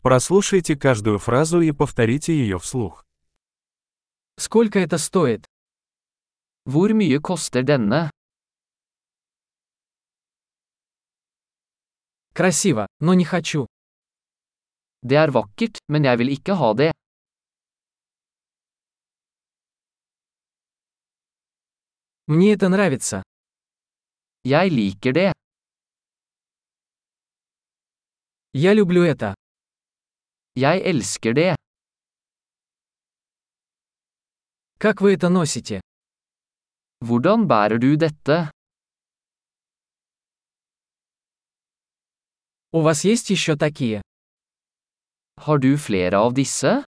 Прослушайте каждую фразу и повторите ее вслух. Сколько это стоит? Hvor mye koster denne? Красиво, но не хочу. Det er vakkert, men jeg vil ikke ha det. Мне это нравится. Jeg liker det. Я люблю это. Jeg elsker det. Как вы это nосите? Hvordan bærer du dette? У вас есть еще такие? Har du flere av disse?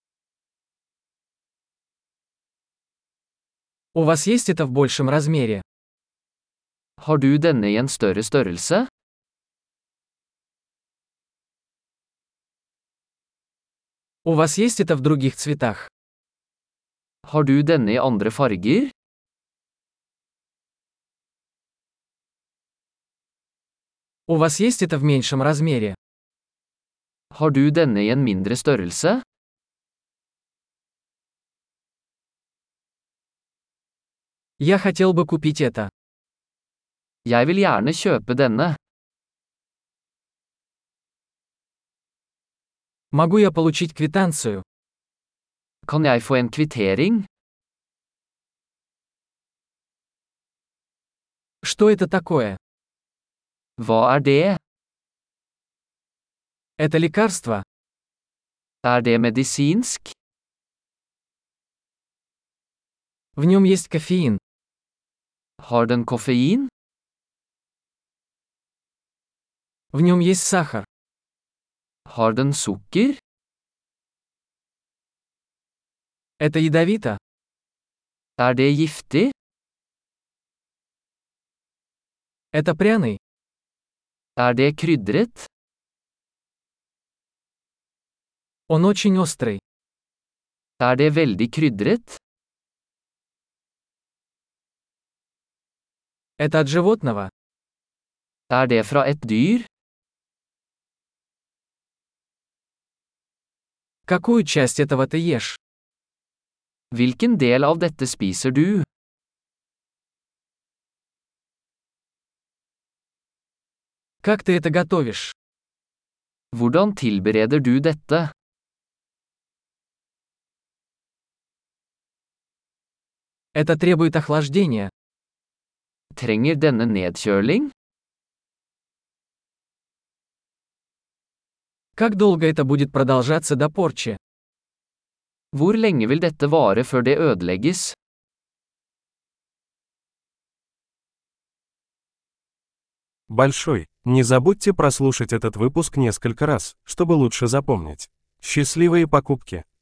У вас есть это в большем размере? Har du denne i en større størrelse? У вас есть это в других цветах? Har du denne i andre farger? У вас есть это в меньшем размере? Har du denne i en mindre størrelse? Я хотел бы купить это. Jeg vil gjerne kjøpe denne. Могу я получить квитанцию? Kan jeg få en kvittering? Что это такое? Hva er det? Это лекарство? Er det medisinsk? В нем есть кофеин. Har den koffein? В нем есть сахар. Har den sukker? Это ядовито? Er det giftig? Это пряный? Er det krydret? Он очень острый. Er det veldig krydret? Это от животного? Er det fra et dyr? Какую часть этого ты ешь? Hvilken del av dette spiser du? Как ты это готовишь? Hvordan tilbereder du dette? Это требует охлаждения. Trenger denne nedkjøling? Как долго это будет продолжаться до порчи? Hvor lenge vil dette vare før det ødelegges? Большой. Не забудьте прослушать этот выпуск несколько раз, чтобы лучше запомнить. Счастливые покупки!